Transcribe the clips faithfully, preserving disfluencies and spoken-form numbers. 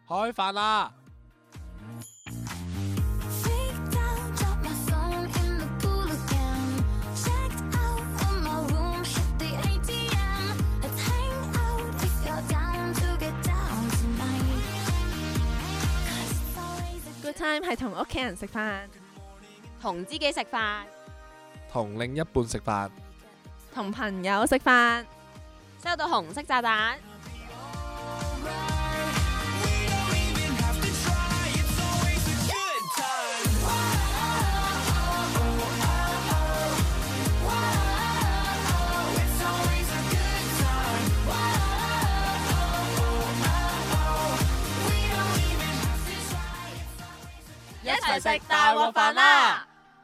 開飯啦！ Good time 係同屋企人食飯， 同知己食飯， 同另一半食飯， 同朋友食飯， 收到紅色炸彈。一齊食大鑊飯啦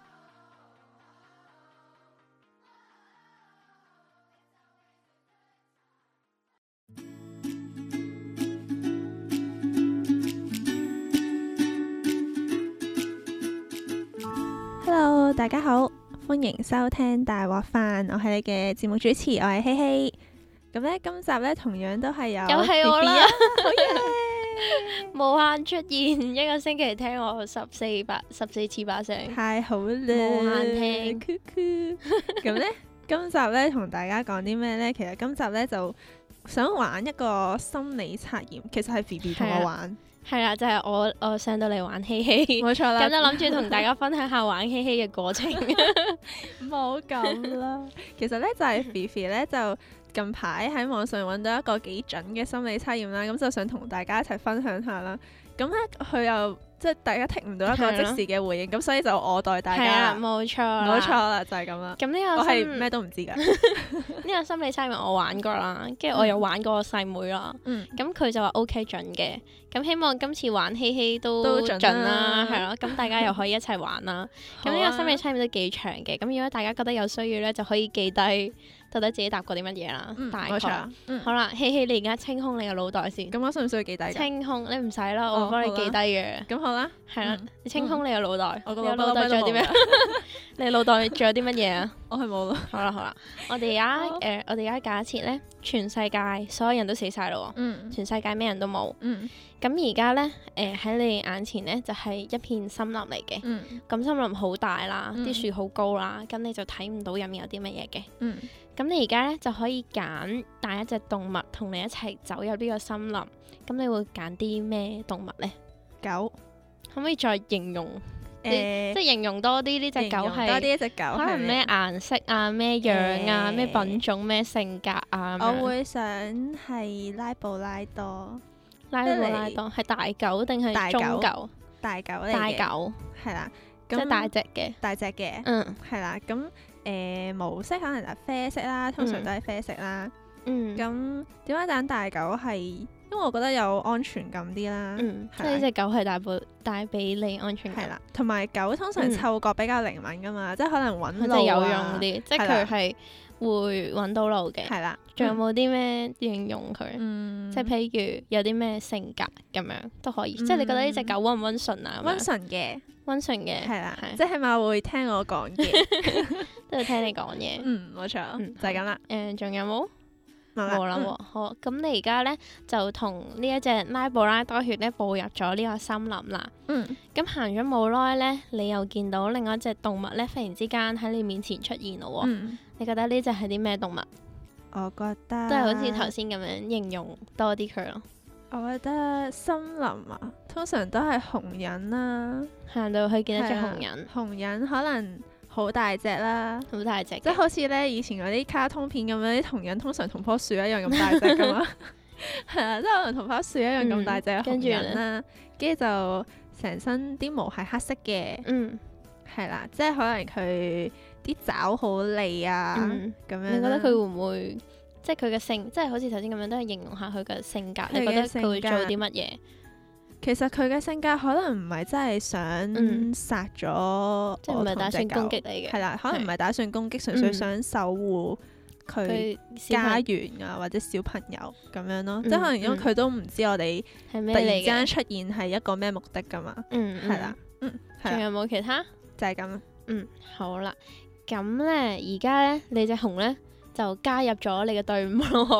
！Hello， 大家好，歡迎收聽大鑊飯，我係你嘅節目主持，我係希希。咁咧，今集咧同樣都係有又係我啦， 好嘢！ 無限出現，一個星期聽我十四百十四次把聲， 太好啦！ 無限聽。 咁咧，今集咧同大家講啲咩咧？其實今集咧就想玩一個心理測驗，其實係 B B 同我玩。 係啦，就係、是、我我上到嚟玩希希， 冇錯啦。 咁就諗住同大家分享下玩希希嘅過程。 冇咁啦，其實咧就係 B B 咧就。近排喺網上揾到一個幾準嘅心理測驗啦，咁就想同大家一齊分享下啦。咁咧佢又即係大家聽唔到一個即時嘅回應，咁所以就我代大家。 冇錯， 冇錯啦，就係咁啦。 咁呢個我係咩都唔知㗎。 呢個心理測驗我玩過啦，跟住我又玩過我細妹啦。 嗯。咁佢就話 OK 準嘅，咁希望今次玩希希都準啦，係咯。咁大家又可以一齊玩啦。咁呢個心理測驗都幾長嘅，咁如果大家覺得有需要咧，就可以記低。到底自己答過啲乜嘢啦？ 嗯、 大概。 嗯、 好啦，希希，你而家清空你嘅腦袋先。 咁我需唔需要記低？清空，你唔使啦，我幫你記低嘅。 咁好啦。係啦， 你清空你嘅腦袋。我個腦袋仲有啲咩？你腦袋仲有啲乜嘢啊？ 我係冇啦。 好啦好啦，我哋而家誒，我哋而家假設咧，全世界所有人都死晒咯喎。嗯。全世界咩人都冇。嗯。咁而家咧，誒喺你眼前咧就係一片森林嚟嘅。嗯。咁森林好大啦，啲樹好高啦，咁你就睇唔到入面有啲乜嘢嘅。嗯。咁你而家咧就可以揀帶一隻動物同你一齊走入呢個森林，咁你會揀啲咩動物咧？ 狗。 可唔可以再形容？誒、欸，即係形容多啲呢隻狗係多啲一隻狗， 可能咩顏色啊、咩樣啊、咩、欸、品種、咩性格啊？ 我會想係拉布拉多。 拉布拉多係大狗定係中狗？ 大狗嚟嘅。大狗係啦， 即係大隻嘅。 大隻嘅。 嗯， 係啦，咁。誒毛色可能就啡色啦，通常都係啡色啦。嗯，咁點解揀大狗係？因為我覺得有安全感啲啦。嗯， 即係呢隻狗係帶俾帶俾你安全感。 係啦，同埋狗通常嗅覺比較靈敏噶嘛，即係可能揾路啊，有用啲，即係佢係會揾到路嘅。係啦，仲有冇啲咩形容佢？嗯，即係譬如有啲咩性格咁樣都可以。即係你覺得呢隻狗溫唔溫順啊？ 溫順嘅，溫順嘅，係啦，即係起碼會聽我講嘢。 都係聽你講嘢， 嗯，冇錯，嗯、就係咁啦。 誒，仲有冇？冇啦喎。好，咁你而家咧就同呢一隻拉布拉多犬咧步入咗呢個森林啦。嗯。咁行咗冇耐咧，你又見到另外一隻動物咧，忽然之間喺你面前出現咯喎。嗯。你覺得呢隻係啲咩動物？ 我覺得都係好似頭先咁樣形容多啲佢咯。 我覺得森林啊，通常都係紅人啦。 行到去見一隻紅人。紅人可能。好大隻啦， 好大隻， 即係好似咧以前嗰啲卡通片咁樣，啲紅人通常同棵樹一樣咁大隻噶嘛，係啊，即係可能同棵樹一樣咁大隻嘅紅人啦，跟住就成身啲毛係黑色嘅，嗯，係啦，即係可能佢啲爪好利啊，咁樣。你覺得佢會唔會即係佢嘅性，即係好似頭先咁樣，都係形容下佢嘅性格，你覺得佢會做啲乜嘢？ 其實佢嘅性格可能唔係真係想殺咗， 即係唔係打算攻擊你嘅， 係啦，可能唔係打算攻擊，純粹想守護佢家園啊或者小朋友咁樣咯。即係可能因為佢都唔知我哋突然之間出現係一個咩目的噶嘛。嗯，係啦，嗯， 仲有冇其他？ 就係咁。嗯， 好啦，咁咧而家咧你隻熊咧就加入咗你嘅隊伍咯。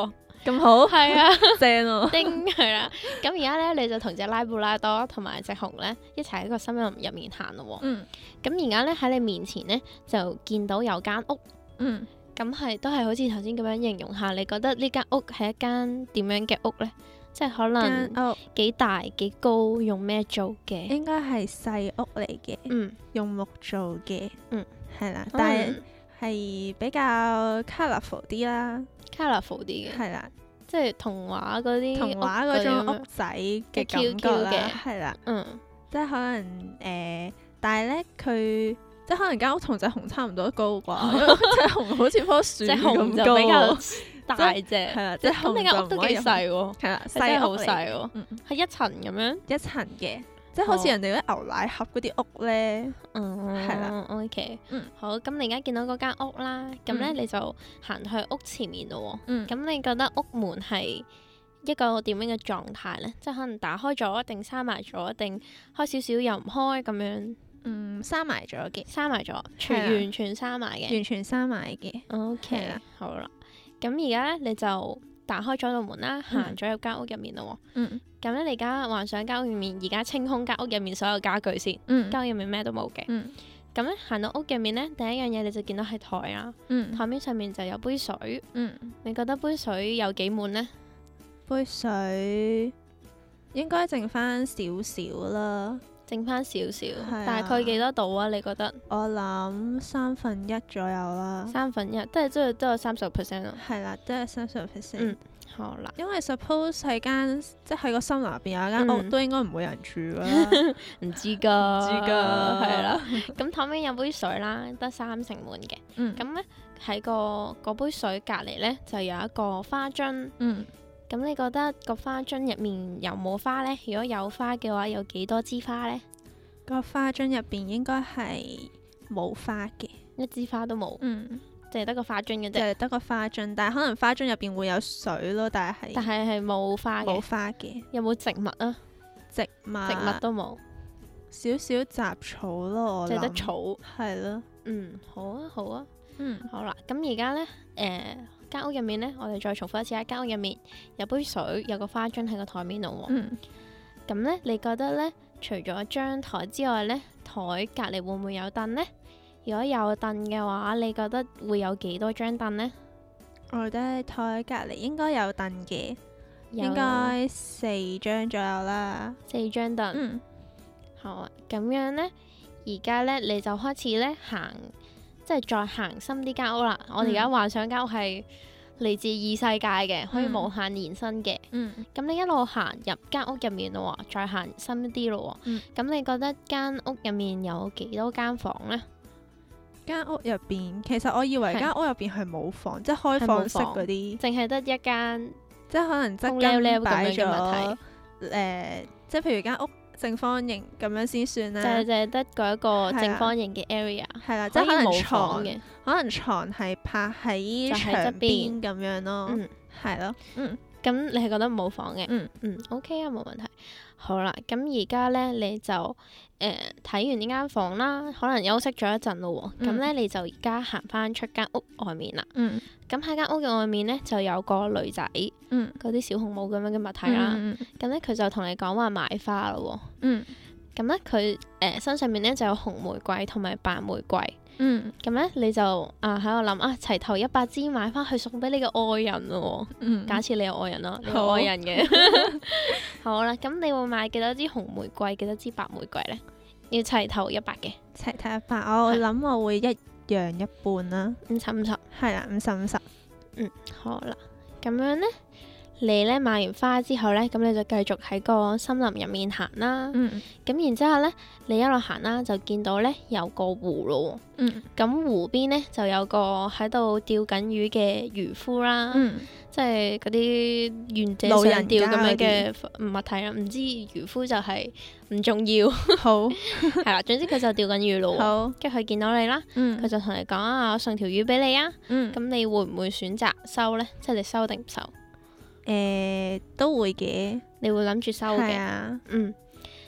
咁好， 係啊， 正喎， 叮係啦。咁而家咧，你就同隻拉布拉多同埋隻熊咧一齊喺個森林入面行咯。嗯。咁而家咧喺你面前咧就見到有間屋。嗯。咁係都係好似頭先咁樣形容下，你覺得呢間屋係一間點樣嘅屋咧？即係可能幾大幾高，用咩做嘅？應該係細屋嚟嘅。嗯。用木做嘅。嗯。係啦，但係係比較 colourful 啲啦。colourful 啲嘅。係啦。即係童話嗰啲童話嗰種屋仔嘅感覺啦，係啦，嗯，即係可能誒、呃，但係咧佢即係可能間屋同隻熊差唔多高啩，因為隻熊好似棵樹咁高，比較大隻，係啦，即係咁你間屋都幾細喎，係啦，細好細喎，係一層咁樣，一層嘅。即係好似人哋嗰啲牛奶盒嗰啲屋咧，嗯，係啦，OK，嗯，好，咁你而家見到嗰間屋啦，咁咧、嗯、你就行去屋前面咯喎，嗯，咁你覺得屋門係一個點樣嘅狀態咧？即係可能打開咗，定閂埋咗，定開少少又唔開咁樣？嗯，閂埋咗嘅，閂埋咗，全完全閂埋嘅，完全閂埋嘅，OK，好啦，咁而家咧你就打開咗道門啦，行咗入間屋入面咯喎，嗯。咁咧，你而家幻想間屋入面，而家清空間屋入面所有家具先，嗯，間屋入面咩都冇嘅。咁咧、嗯，行到屋入面咧，第一樣嘢你就見到係台啊，嗯，台面上面就有杯水，嗯，你覺得杯水有幾滿咧？杯水應該剩翻少少啦，剩翻少少，啊、大概幾多度啊？你覺得？我諗三分一左右啦，三分一，即係即係都有三十 percent 咯。係啦，都係三十 percent。嗯。好啦，因為 suppose 喺間即係喺個森林入邊有一間屋，嗯、都應該唔會有人住噶啦，唔知噶，唔知噶，係啦。咁台面有杯水啦，得三成滿嘅。咁咧喺個嗰杯水隔籬咧就有一個花樽。嗯。咁你覺得個花樽入面有冇花咧？如果有花嘅話，有幾多支花咧？個花樽入邊應該係冇花嘅，一支花都冇。嗯。淨係得個花樽嘅啫，淨係得個花樽，但係可能花樽入邊會有水咯，但係但係係冇花嘅，冇花嘅。有冇植物啊？植物植物都冇，少少雜草咯，淨係得草，係咯。嗯，好啊，好啊，嗯，好啦。咁而家咧，誒間屋入面咧，我哋再重複一次，喺間屋入面有杯水，有個花樽喺個台面度喎。嗯。咁咧，你覺得咧，除咗張台之外咧，台隔離會唔會有凳咧？如果有凳嘅話，你覺得會有幾多張凳呢？我覺得台隔離應該有凳嘅，有應該四張左右啦。四張凳。嗯。好啊，咁樣呢，而家呢，你就開始呢行，即係再行深啲間屋啦。嗯、我哋而家幻想間屋係嚟自異世界嘅，可以無限延伸嘅。嗯。咁你一路行入間屋入面咯，再行深啲咯。嗯。咁你覺得間屋入面有幾多間房呢？間屋入邊，其實我以為間屋入邊係冇房，即係開放式嗰啲，淨係得一間，即係可能側間擺咗誒，即係譬如間屋正方形咁樣先算啦。就係就係得嗰一個正方形嘅 area，係啦，即係可能床嘅，可能床係泊喺牆邊咁樣咯，嗯，係咯，嗯，咁你係覺得冇房嘅，嗯嗯 ，OK 啊，冇問題。好啦，咁而家咧你就誒睇、呃、完呢間房啦，可能休息咗一陣咯喎，咁咧、嗯、你就而家行翻出間屋外面啦。嗯。咁喺間屋嘅外面咧就有個女仔，嗯，嗰啲小紅帽咁樣嘅物體啦。嗯。咁咧佢就同你講話買花咯喎。嗯。咁咧佢誒身上面咧就有紅玫瑰同埋白玫瑰。嗯，咁咧你就啊喺度諗啊，齊頭一百支買翻去送俾你嘅愛人咯。嗯，假設你有愛人咯，你有愛人嘅。好啦，咁你會買幾多支紅玫瑰，幾多支白玫瑰咧？要齊頭一百嘅。齊頭一百，我諗我會一樣一半啦。五十五十。係啦，五十五十。嗯，好啦，咁樣咧。你咧買完花之後咧，咁你就繼續喺個森林入面行啦。嗯，咁然之後咧，你一路行啦，就見到咧有個湖咯。嗯，咁湖邊咧就有個喺度釣緊魚嘅漁夫啦。嗯，即係嗰啲願者上釣咁樣嘅物體啦。唔知漁夫就係唔重要。好，係啦，總之佢就釣緊魚咯。好，跟住佢見到你啦。嗯，佢就同你講啊，我送條魚俾你啊。嗯，咁你會唔會選擇收咧？即係你收定唔收？誒、呃，都會嘅，你會諗住收嘅，啊、嗯，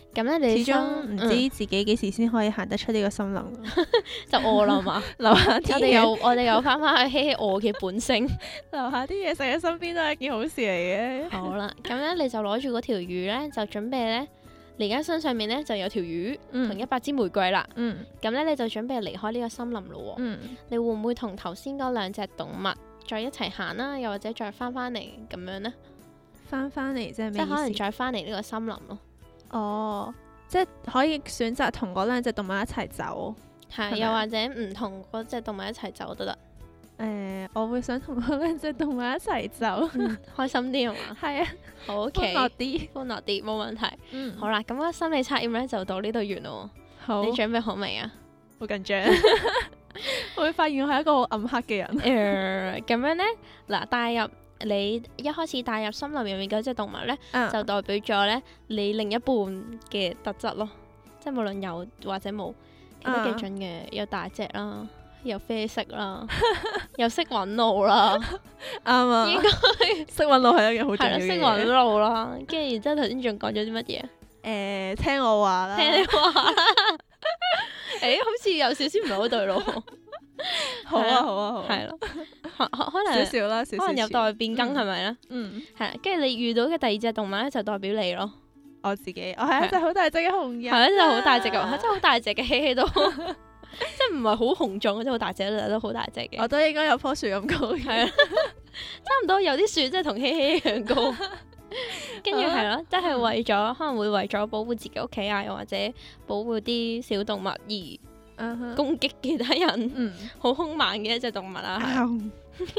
咁咧你始終唔知自己幾時先可以行得出呢個森林， 就餓啦嘛。留下我哋又我哋又翻翻去希希餓嘅本性， 留下啲嘢食喺身邊都係一件好事嚟嘅。 好啦，咁咧你就攞住嗰條魚咧，就準備咧，你而家身上面咧就有條魚同一百支玫瑰啦。嗯，咁咧你就準備離開呢個森林咯。嗯，你會唔會同頭先嗰兩隻動物再一齊行啦？又或者再翻翻嚟咁樣咧？翻翻嚟即係咩意思？即係可能再翻嚟呢個森林咯。哦，即係可以選擇同嗰兩隻動物一齊走，係又或者唔同嗰隻動物一齊走都得。誒、呃，我會想同嗰兩隻動物一齊走，嗯、開心啲係嘛？係啊，好 OK，歡樂啲，歡樂啲，冇問題。嗯，好啦，咁個心理測驗咧就到呢度完咯。好，你準備好未啊？好緊張，我會發現我係一個好暗黑嘅人。誒、呃，咁樣咧，嗱，帶入。你一開始帶入森林入面嗰隻動物咧，啊、就代表咗咧你另一半嘅特質咯，即係無論有或者冇，都幾準嘅，有大隻啦，有啡色啦，又識揾路啦，啱啊，應該識揾路係一件好重要嘅嘢，識揾路啦，跟住然之後頭先仲講咗啲乜嘢？誒、呃，聽我話啦，聽你話啦，誒、欸，好似有少少唔係好對路。好啊好啊好，係咯，可能少少啦，少少可能有待變更係咪咧？嗯，係啦，跟住你遇到嘅第二隻動物咧，就代表你咯。我自己，我係一隻好大隻嘅紅人，係一隻好大隻嘅，係真係好大隻嘅，希希都，即係唔係好雄壯，即係好大隻，但都好大隻嘅。我都應該有棵樹咁高嘅，係啊，差唔多有啲樹即係同希希一樣高。跟住係咯，即係為咗可能會為咗保護自己屋企啊，又或者保護啲小動物而。Uh-huh. 攻擊其他人，好兇、嗯、猛嘅一隻動物啊，係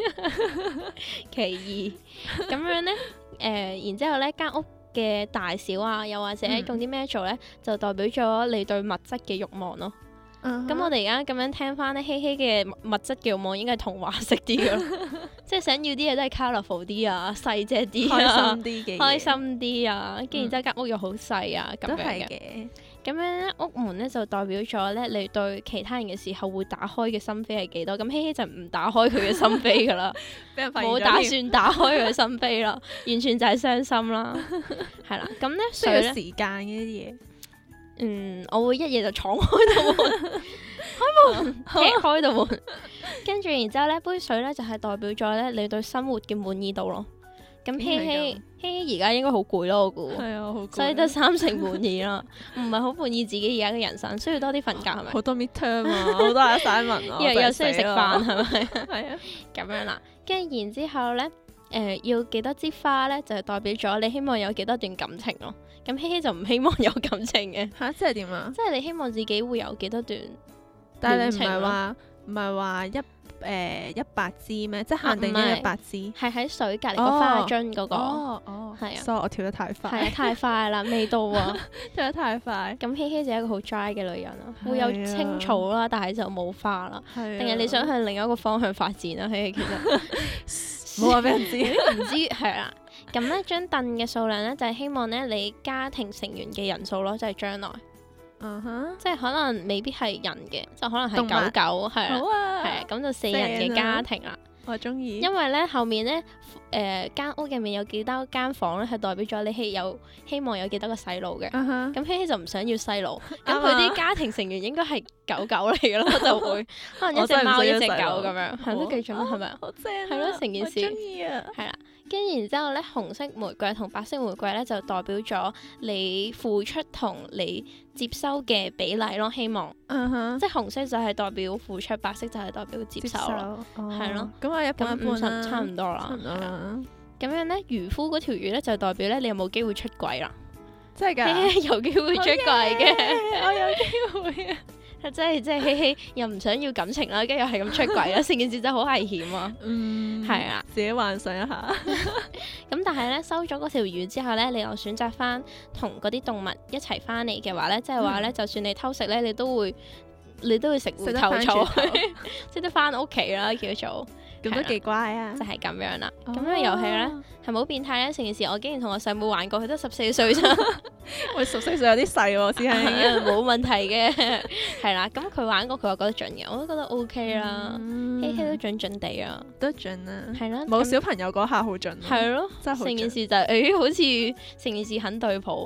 其二咁樣咧，誒、呃，然之後咧間屋嘅大小啊，又或者用啲咩做咧，嗯、就代表咗你對物質嘅慾望咯。咁、uh-huh. 我哋而家咁樣聽翻咧，希希嘅物質嘅慾望應該係童話式啲嘅，即係想要啲嘢都係 colourful 啲啊，細隻啲啊，開心啲嘅，開心啲啊，跟住然之後間屋又好細啊，咁樣嘅。咁樣咧，屋門咧就代表咗咧，你對其他人嘅時候會打開嘅心扉係幾多？咁希希就唔打開佢嘅心扉噶啦，冇打算打開佢嘅心扉啦，完全就係傷心啦，係啦。咁咧需要時間嘅呢啲嘢，嗯，我會一夜就闖開道門，開門，踢開道門，跟住然之後咧杯水咧就係代表咗咧你對生活嘅滿意度咯。咁希希希希而家應該好攰咯，我估，係啊，好攰，所以得三成滿意啦，唔係好滿意自己而家嘅人生，需要多啲瞓覺係咪？好多 midterm 啊，好多 assignment 啊，又又需要食飯係咪？係啊，咁樣啦，跟住然之後咧，誒、呃、要幾多支花咧，就係、是、代表咗你希望有幾多段感情咯。咁希希就唔希望有感情嘅嚇，即係點啊？即係你希望自己會有幾多段？但係你唔係話唔係話一。誒一百支咩？即係限定咗一百支，係喺水隔離個花樽嗰個。哦哦，係啊，所以我跳得太快，係啊，太快啦，未到啊，跳得太快。咁希希就係一個好 dry 嘅女人啊，會有青草啦，但係就冇花啦。定係你想向另一個方向發展啊？希希其實冇話俾人知，唔知係啦。咁咧張凳嘅數量咧就係希望咧你家庭成員嘅人數咯，即係將來。嗯哼，uh-huh. 即係可能未必係人嘅，就可能係狗狗，係啦，係啊，咁就四人嘅家庭啦。我中意，因為咧後面咧，誒、呃、間屋入面有幾多間房咧，係代表咗你係有希望有幾多個細路嘅。咁、uh-huh. 希希就唔想要細路，咁佢啲家庭成員應該係狗狗嚟嘅咯，就會可能一隻貓一隻狗咁樣，係都幾準啦，係咪啊？好正，係咯，成件事，我中意啊，係啦。跟住然之後咧，紅色玫瑰同白色玫瑰咧，就代表咗你付出同你接收嘅比例咯。希望，uh-huh. 即係紅色就係代表付出，白色就係代表接收咯，係咯。咁我一半一半啦，差唔多啦。咁樣咧，漁夫嗰條魚咧就代表咧你有冇機會出軌啦？真係㗎，有機會出軌嘅，我有機會啊！係真係，即係希希又唔想要感情啦，跟住又係咁出軌啦，成件事真係好危險啊！嗯，係啊，自己幻想一下。咁但係咧，收咗嗰條魚之後咧，你又選擇翻同嗰啲動物一齊翻嚟嘅話咧，即係話咧，就算你偷食咧，你都會你都會食回頭草，識得翻屋企啦，叫做。咁都幾乖啊！就係、是、咁樣啦。咁、哦、樣遊戲咧係咪好變態咧？成件事我竟然同我細妹玩過，佢都十四歲咋。我十四歲有啲細喎，師兄。冇問題嘅，係啦。咁佢玩過，佢話覺得準嘅，我都覺得 OK 啦。希希都準準地啊，都準啊。係啦，冇小朋友嗰下好準。係咯，真係好準。成件事就誒、是欸，好似成件事很對譜。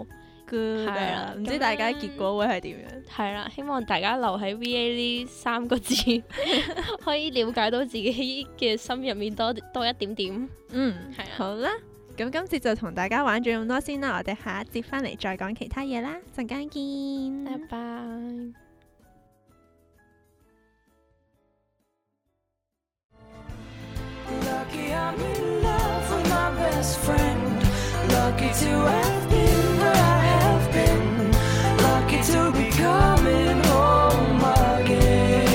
good 啊！唔知大家結果會係點樣？ 係啦，希望大家留喺 V A 呢三個字，可以了解到自己嘅心入面多多一點點。 嗯，係啊。好啦，咁今次就同大家玩咗咁多先啦，我哋下一節翻嚟再講其他嘢啦，陣間見， 拜拜。Lucky I'm in love with my best friend. Lucky to have been where I have been. Lucky to be coming home again.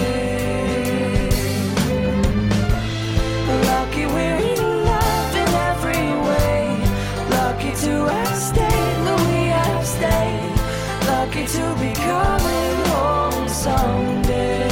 Lucky we're in love in every way. Lucky to have stayed where we have stayed. Lucky to be coming home someday.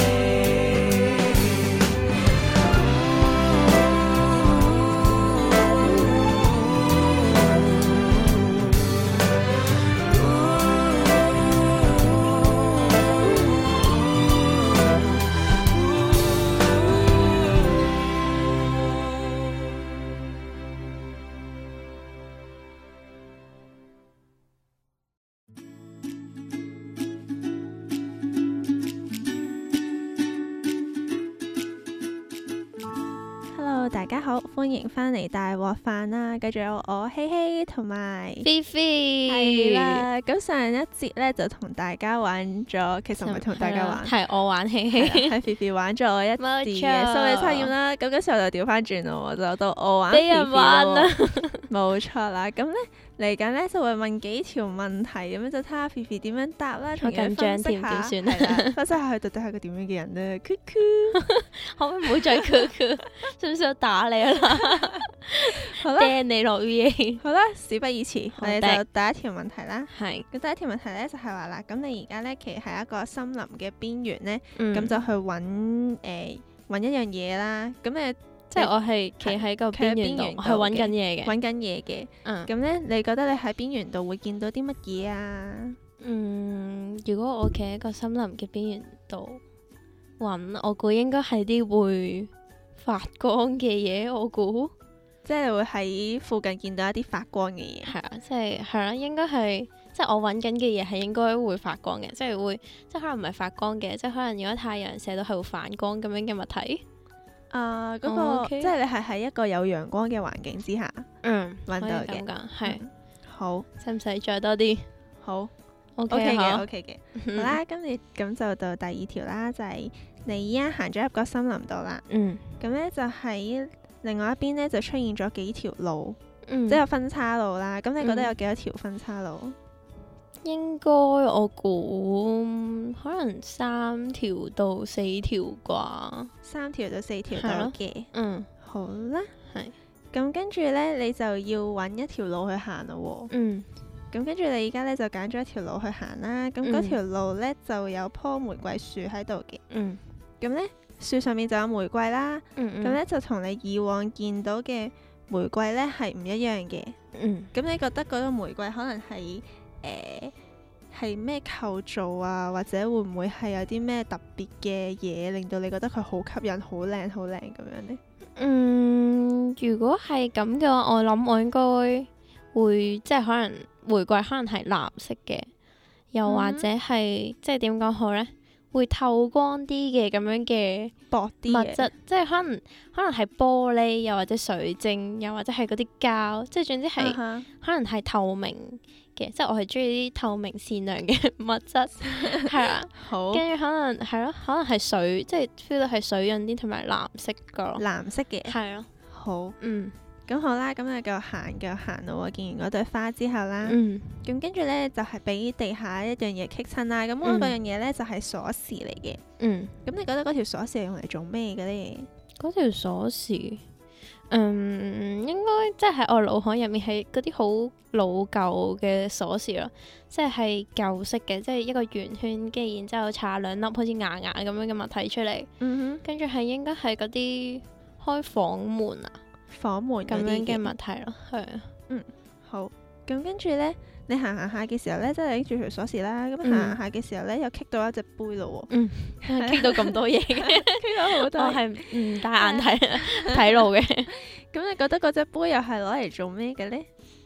大家好，歡迎翻嚟大鑊飯啦！繼續有我希希同埋菲菲係啦。咁上一節咧就同大家玩咗，其實唔係同大家玩， 係我玩希希， 係菲菲玩咗一次嘅心理測驗啦。咁嗰時候就調翻轉咯，就到我玩菲菲咯。冇錯啦，咁咧嚟緊咧就會問幾條問題，咁樣就睇下菲菲點樣答啦，同佢分析下，係啦，分析下佢到底係個點樣嘅人咧。Q Q， 可唔可以唔好再 Q Q？ 需唔需要打你啦？ 好啦， 掟你落 V A。好啦，事不宜遲，我哋就第一條問題啦。 係。 咁第一條問題咧就係話啦，咁你而家咧企喺一個森林嘅邊緣咧，咁、嗯、就去揾誒揾一樣嘢啦。咁誒， 即係我係企喺個邊緣度，係揾緊嘢嘅。 揾緊嘢嘅。嗯。咁咧，你覺得你喺邊緣度會見到啲乜嘢啊？ 嗯，如果我企喺個森林嘅邊緣度揾，我估應該係啲會發光嘅嘢，我估， 即係會喺附近見到一啲發光嘅嘢。 係啊，即係係啦，應該係，即係我揾緊嘅嘢係應該會發光嘅，即係會，即係可能唔係發光嘅，即係可能如果太陽射到係會反光咁樣嘅物體。 啊、呃，嗰、那個、oh, okay. 即係你係喺一個有陽光嘅環境之下，嗯，揾到嘅， 係、 嗯、好， 使唔使再多啲？ 好 ，OK 嘅，OK 嘅，好啦，咁你咁就到第二條啦，就係、是。你依家行咗入個森林度啦，嗯，咁咧就喺另外一邊咧就出現咗幾條路，嗯、即係有分岔路啦。咁你覺得有幾多條分岔路？嗯、應該我估可能三條到四條啩，三條到四條到嘅，嗯，好啦，係。咁跟住咧，你就要揾一條路去行咯，嗯。咁跟住你而家咧就揀咗一條路去行啦。咁嗰條路咧就有棵玫瑰樹喺度嘅，嗯。咁咧樹上面就有玫瑰啦，咁咧、嗯、就同你以往見到嘅玫瑰咧係唔一樣嘅。咁、嗯、你覺得嗰個玫瑰可能係誒係咩構造啊，或者會唔會係有啲咩特別嘅嘢令到你覺得佢好吸引、好靚、好靚咁樣呢？嗯， 如果係咁嘅話，我諗我應該會即係可能玫瑰可能係藍色嘅，又或者係、嗯、即係點講好呢？會透光啲嘅咁樣嘅薄啲物質，即係可能可能係玻璃，又或者水晶，又或者係嗰啲膠，即係總之係、uh huh. 可能係透明嘅，即係我係中意啲透明善良嘅物質，係啦。好。跟住可能係咯，可能係水，即係 feel 到係水潤啲，同埋藍色噶咯。 藍色嘅。 係咯。 好。嗯。咁好啦，咁你繼續行，繼續行咯。見完嗰朵花之後啦，咁跟住咧就係、是、俾地下一樣嘢棘親啦。咁嗰樣嘢咧就係鎖匙嚟嘅。嗯。咁你覺得嗰條鎖匙係用嚟做咩嘅咧？ 嗰條鎖匙，嗯，應該即係喺我腦海入面係嗰啲好老舊嘅鎖匙咯，即係舊式嘅，即係一個圓圈，跟住然之後插兩粒好似牙牙咁樣嘅物體出嚟。嗯哼。跟住係應該係嗰啲開房門啊。 房門咁樣嘅物體咯，係啊， 嗯，好，咁跟住咧，你行行下嘅時候咧，即係拎住條鎖匙啦，咁行行下嘅時候咧，又棘到一隻杯咯，嗯， 棘到咁多嘢嘅， 棘到好多， 我係唔戴眼睇睇路嘅， 咁你覺得嗰隻杯又係攞嚟做咩嘅咧？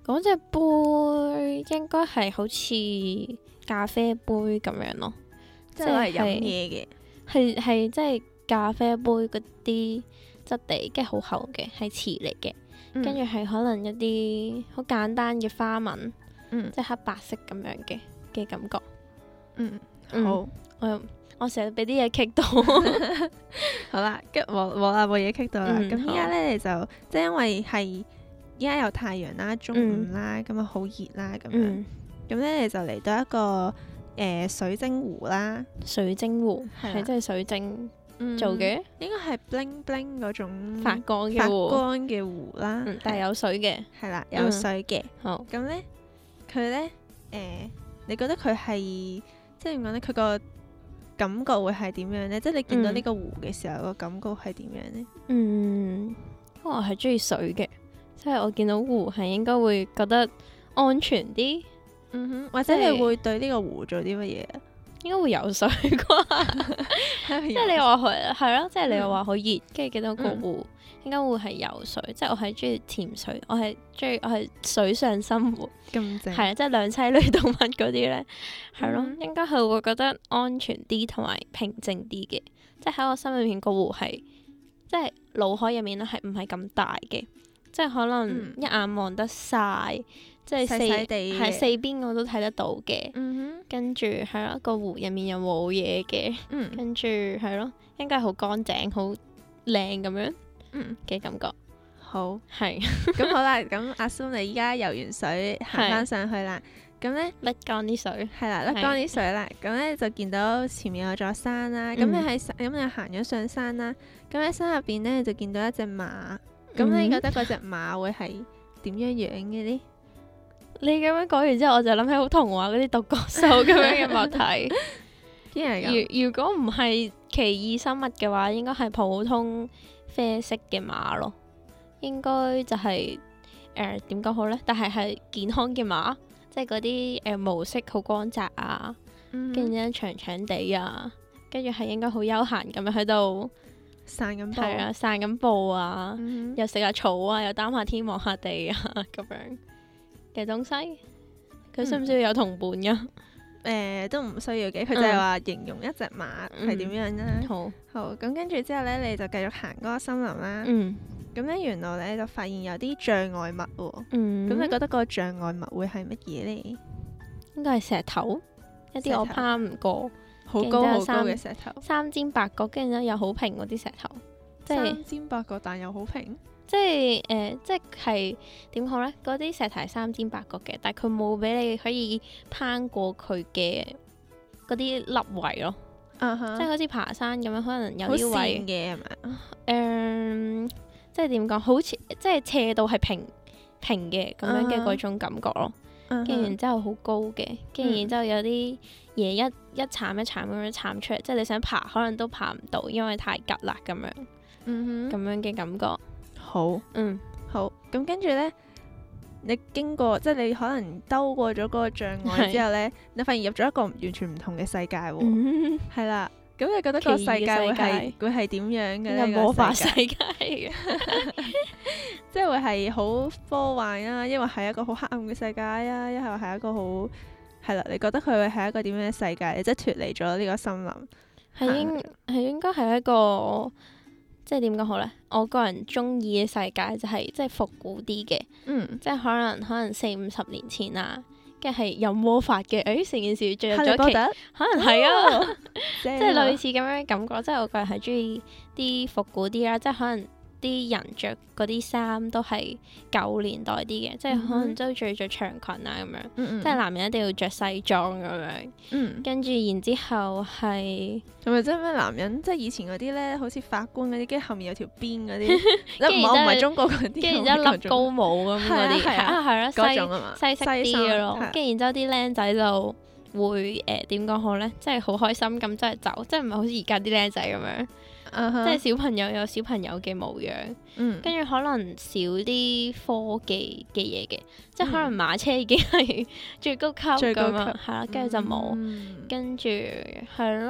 嗰隻杯應該係好似咖啡杯咁樣咯， 即係係飲嘢嘅， 係係即係咖啡杯嗰啲質地，跟住好厚嘅，係瓷嚟嘅，跟住係可能一啲好簡單嘅花紋，嗯、即係黑白色咁樣嘅嘅感覺。嗯，好，我我成日俾啲嘢棘到。 好啦，跟住冇冇啦，冇嘢棘到啦。咁依家咧你就即係因為係依家有太陽啦，中午啦，咁啊好熱啦，咁樣。咁咧你就嚟到一個誒、呃、水晶湖啦。水晶湖係即係水晶做嘅， 應該係 bling bling 嗰種發光嘅發光嘅湖啦， 嗯、但係有水嘅， 係啦，有水嘅、嗯。好，咁咧佢咧誒，你覺得佢係即係點講咧？佢個感覺會係點樣咧？即係你見到呢個湖嘅時候，個、嗯、感覺係點樣咧？ 嗯，我係中意水嘅，即係我見到湖係應該會覺得安全啲。 嗯哼，或者你會對呢個湖做啲乜嘢啊？ 應該會游水啩，即係你話佢係咯，即係你又話好熱，跟住見到個湖，應該會係游水。即係我係中意潛水，我係中意我係水上生活咁正，係啊，即係兩棲類動物嗰啲咧，係咯，應該係會覺得安全啲同埋平靜啲嘅。即係喺我心裏面個湖係，即係腦海入面咧係唔係咁大嘅，即係可能一眼望得晒。即係四係四邊我都睇得到嘅，嗯、跟住係咯，個湖入面又冇嘢嘅，嗯、跟住係咯，應該好乾淨、好靚咁樣嘅感覺。 好係咁好啦，咁阿蘇你依家游完水行翻上去啦，咁咧甩乾啲水， 係啦，甩乾啲水啦，咁咧就見到前面有座山啦，咁、嗯、你喺咁你行咗上山啦，咁喺山入邊咧就見到一隻馬，咁、嗯、你覺得嗰隻馬會係點樣樣嘅咧？ 你咁樣講完之後，我就諗起好童話嗰啲獨角獸咁樣嘅物體。如如果唔係奇異生物嘅話，應該係普通啡色嘅馬咯。應該就係誒點講好呢？但係係健康嘅馬，即係嗰啲誒毛色好光澤啊，跟住咧長長地啊，跟住係應該好悠閒咁樣喺度散緊步， 係啊，散緊步啊， 嗯、 又食下草啊，又擔下天望下地啊，咁樣嘅東西，佢需唔需要有同伴噶？誒、 嗯呃，都唔需要嘅，佢就係話形容一隻馬係點樣啦、嗯。好，好，咁跟住之後咧，你就繼續行嗰個森林啦。嗯。咁咧，原來咧就發現有啲障礙物喎。嗯。咁你覺得嗰個障礙物會係乜嘢咧？ 應該係石頭，一啲我攀唔過， 好高好高嘅石頭， 三尖八角，跟住咧又好平嗰啲石頭，即係三尖八角，但又好平。 即係誒、呃，即係點講咧？嗰啲石頭三尖八角嘅，但係佢冇俾你可以攀過佢嘅嗰啲凹位咯。Uh-huh. 即係好似爬山咁樣，可能有啲位嘅係咪？誒、 呃，即係點講？好似即係斜度係平平嘅咁樣嘅嗰種感覺咯。跟住、uh-huh. 然之後好高嘅，跟住然之後有啲嘢一一鏟一鏟咁樣鏟出嚟，即係你想爬可能都爬唔到，因為太急啦咁樣。嗯哼，咁樣嘅感覺。 好，嗯，好，咁跟住呢，你經過即係你可能兜過咗嗰個障礙之後呢，你發現入咗一個完全唔同嘅世界喎，係、嗯、啦，咁你覺得個世界會係會係點樣嘅呢？ 魔法世界嘅， 即係會係好科幻啊，因為係一個好黑暗嘅世界啊，一係係一個好係啦，你覺得佢會係一個點樣嘅世界？即係脫離咗呢個森林， 係應係應該係一個。即係點講好呢？我個人中意嘅世界就係即係復古啲嘅，嗯，即係可能可能四五十年前啊，跟住係有魔法嘅，誒成件事進入咗期，可能係啊，哦、即係類似咁樣嘅感覺。即係我個人係中意啲復古啲啦，即係可能啲人着嗰啲衫都係舊年代啲嘅、嗯，即係可能都中意着長裙啊咁樣，嗯、即係男人一定要着西裝咁樣，嗯、跟住然之後係係咪即係咩男人即係以前嗰啲咧，好似法官嗰啲，跟住後面有條辮嗰啲，唔係唔係中國嗰啲， 跟住然之後笠高帽咁嗰啲，係啊係咯，西西式啲嘅咯，跟住然之後啲僆仔就會誒點講好咧，即係好開心咁即係走，即係唔係好似而家啲僆仔咁樣。Uh-huh. 即係小朋友有小朋友嘅模樣，跟、嗯、住可能少啲科技嘅嘢嘅，即係可能馬車已經係最高級咁啊，係啦，跟住就冇，跟住係咯，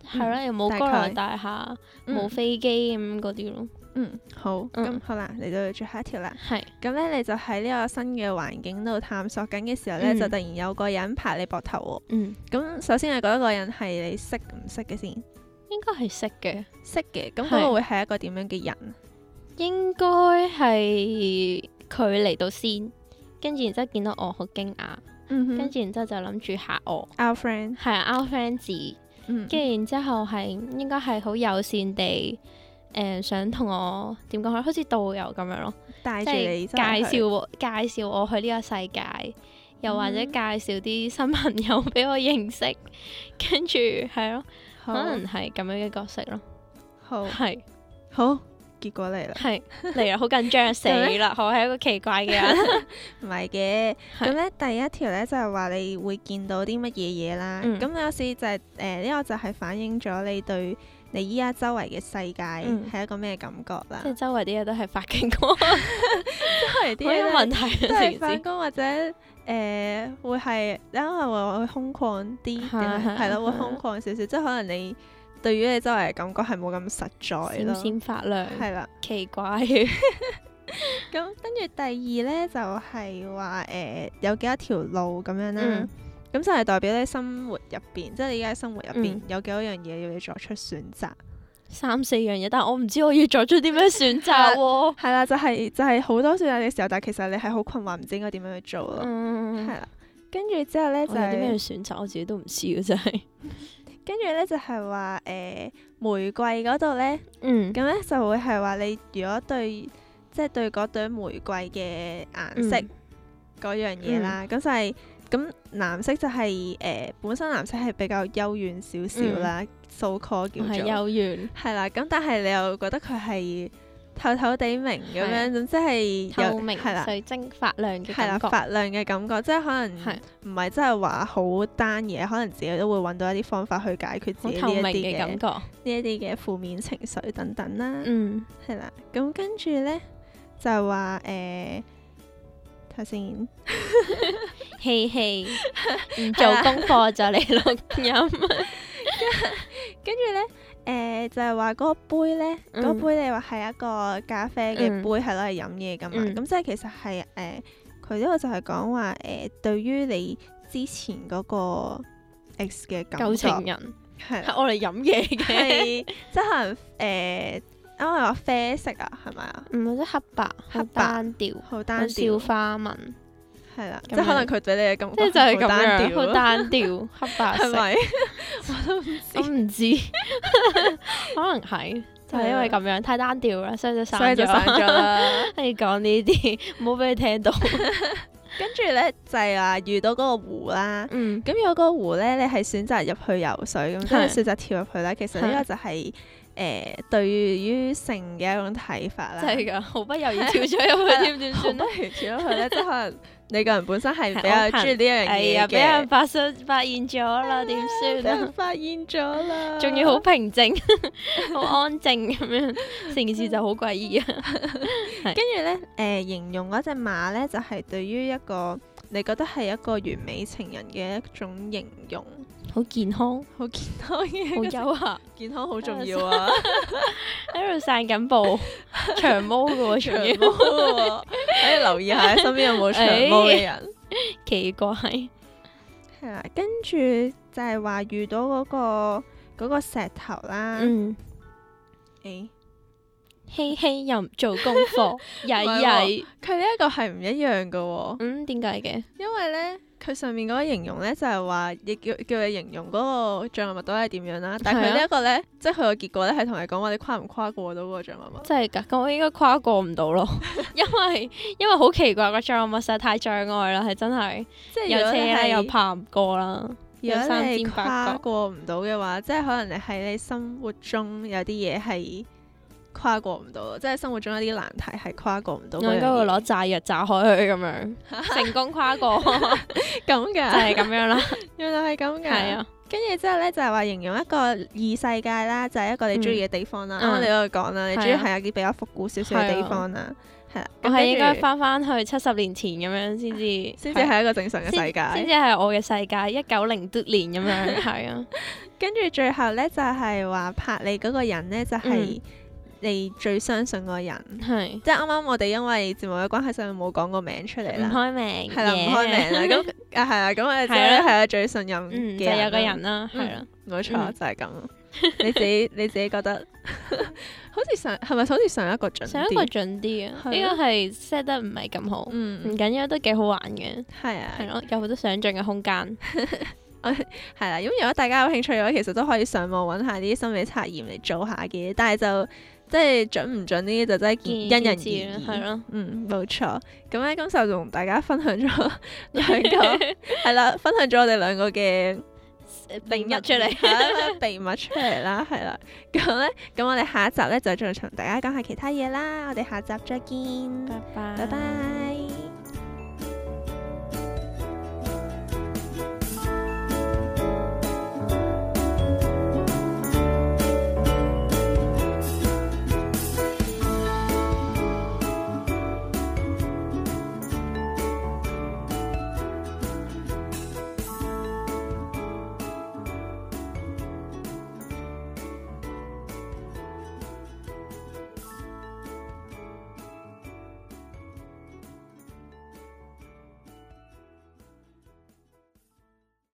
係咯，又冇高樓大廈，冇飛機咁嗰啲咯。 嗯，好，咁、嗯、好啦，嚟到最後一條啦。係是，咁咧你就喺呢個新嘅環境度探索緊嘅時候咧，嗯、就突然有個人拍你膊頭喎。嗯，咁首先你覺得個人係你識唔識嘅先？ 應該係識嘅， 識嘅。咁嗰個會係一個點樣嘅人？ 應該係佢嚟到先，跟住然之後見到我好驚訝，嗯、哼跟住然之後就諗住嚇我。 Our friend 係啊，Our friend 字，跟住、嗯、然之後係應該係好友善地。誒、呃、想同我點講好，好似導遊咁樣咯， 帶住你介紹我介紹我去呢個世界，又或者介紹啲新朋友俾我認識，跟住係咯，好可能係咁樣嘅角色咯。好，係是好，結果嚟啦，係嚟啦，好緊張死啦！我係一個奇怪嘅人， 唔係嘅。咁咧第一條咧就係話你會見到啲乜嘢嘢啦。咁、嗯、有時就係誒呢個就係反映咗你對你依家周圍嘅世界係一個咩感覺啦？即係周圍啲嘢都係發緊光， 周圍啲嘢冇問題， 都係發光或者誒、呃、會係因為會會空曠啲，係咯，會空曠少少，即係可能你對於你周圍嘅感覺係冇咁實在咯， 閃閃發亮， 係啦， 奇怪。 咁跟住第二咧就係話誒有幾多條路咁樣啦。嗯咁就係代表你生活入邊，即係你而家生活入邊、嗯、有幾多樣嘢要你作出選擇， 三四樣嘢，但係我唔知我要作出啲咩選擇喎。 係啦，就係、是、就係、是、好多選擇嘅時候，但係其實你係好困惑，唔知應該點樣去做咯。係啦、嗯，跟住之後咧就係啲咩選擇，我自己都唔知嘅真係。跟住咧就係話誒玫瑰嗰度咧，嗯，咁咧就會係話你如果對即係、就是、對嗰朵玫瑰嘅顏色嗰、嗯、樣嘢啦，咁、嗯、就係、是。咁藍色就係、是、誒、呃、本身藍色係比較幽怨少少啦，so call 叫做係幽怨，係啦。咁但係你又覺得佢係透透地明咁樣，咁即係透明水晶發亮嘅感覺， 係啦，發亮嘅感覺，即係可能唔係真係話好單嘢，可能自己都會揾到一啲方法去解決自己呢一啲嘅感覺，呢一啲嘅負面情緒等等啦。嗯，係啦。咁跟住咧就係話誒。頭先， 嘻嘻，唔做功課就嚟錄音。 跟住咧，誒、呃、就係話嗰個杯咧，嗰、嗯、杯你話係一個咖啡嘅杯，係攞嚟飲嘢噶嘛？咁、嗯、即係其實係誒，佢呢個就係講話誒，對於你之前嗰個 ex 嘅感覺， 舊情人係係我嚟飲嘢嘅， 即係可能誒。呃因為話啡色啊，係咪啊？ 唔係即黑白，好單調，好單調，小花紋， 係啦，即係可能佢俾你嘅感覺， 即係就係咁樣，好單調，黑白色， 係咪？我都唔知， 我唔知，可能係就係因為咁樣太單調啦，所以就散咗啦。你講呢啲，唔好俾佢聽到。 跟住咧就係話遇到嗰個湖啦，咁有嗰個湖咧，你係選擇入去游水咁，即係選擇跳入去啦。其實呢個就係。誒、呃，對於性嘅一種睇法啦， 真係噶，毫不猶豫跳咗入去，點點算咧？ 毫不猶豫跳咗去咧，即係可能你個人本身係比較中意呢樣嘢嘅， 俾人發現發現咗啦，點算啊？俾人發現咗啦， 仲要好平靜，好安靜咁樣，成件事就好詭異啊！ 跟住咧，誒、呃，形容嗰隻馬咧，就係、是、對於一個你覺得係一個完美情人嘅一種形容。 好健康， 好健康嘅， 好優雅， 健康好重要啊！ 喺度散緊步，長毛嘅喎，長毛嘅喎，可以留意下身邊有冇長毛嘅人。哎、 奇怪，係啦，跟住就係話遇到嗰、嗰個嗰個石頭啦。嗯。誒、欸， 希希又唔做功課，曳曳。 佢呢一個係唔一樣嘅喎。 嗯，點解嘅？ 因為咧。佢上面嗰個形容咧就係話，亦叫叫你形容嗰個障礙物到底係點樣啦。但係佢呢一個咧，即係佢個結果咧係同你講話，你跨唔跨過到嗰個障礙物？ 真係㗎，咁我應該跨過唔到咯，因為因為好奇怪個障礙物實在太障礙啦，係真係，即係有車咧又爬唔過啦。 如果你跨過唔到嘅話，即係可能你喺你生活中有啲嘢係跨過唔到，即係生活中一啲難題係跨過唔到。 我應該會攞炸藥炸開佢咁樣，成功跨過。 咁嘅就係咁樣啦。 原來係咁嘅。係啊。跟住之後咧，就係話形容一個異世界啦，就係一個你中意嘅地方啦。啱啱你嗰度講啦，你中意係有啲比較復古少少嘅地方啦。 係啦， 我係應該翻翻去七十年前咁樣先至， 先至係一個正常嘅世界， 先至係我嘅世界，一九零多年咁樣，係啊。 跟住最後咧就係話拍你嗰個人咧就係你最相信嗰個人，係即係啱啱我哋因為節目嘅關係，所以冇講個名出嚟啦， 唔開名， 係啦，唔開名啦，咁啊係啊，咁我哋就係啊最信任嘅就有個人啦，係啦， 冇錯就係咁。你自己你自己覺得好似上係咪好似上一個準啲？上一個準啲啊，呢個係 set 得唔係咁好，唔緊要都幾好玩嘅，係啊，係咯，有好多想像嘅空間。 係啦，咁如果大家有興趣嘅話，其實都可以上網揾下啲心理測驗嚟做下嘅，但係就即係準唔準呢啲就真係因人而異，係咯，嗯，冇錯。咁咧，今集就同大家分享咗兩個係啦，分享咗我哋兩個嘅秘密出嚟，秘密出嚟啦，係啦。咁咧，咁我哋下一集咧就再同大家講下其他嘢啦。我哋下集再見， 拜拜， 拜拜。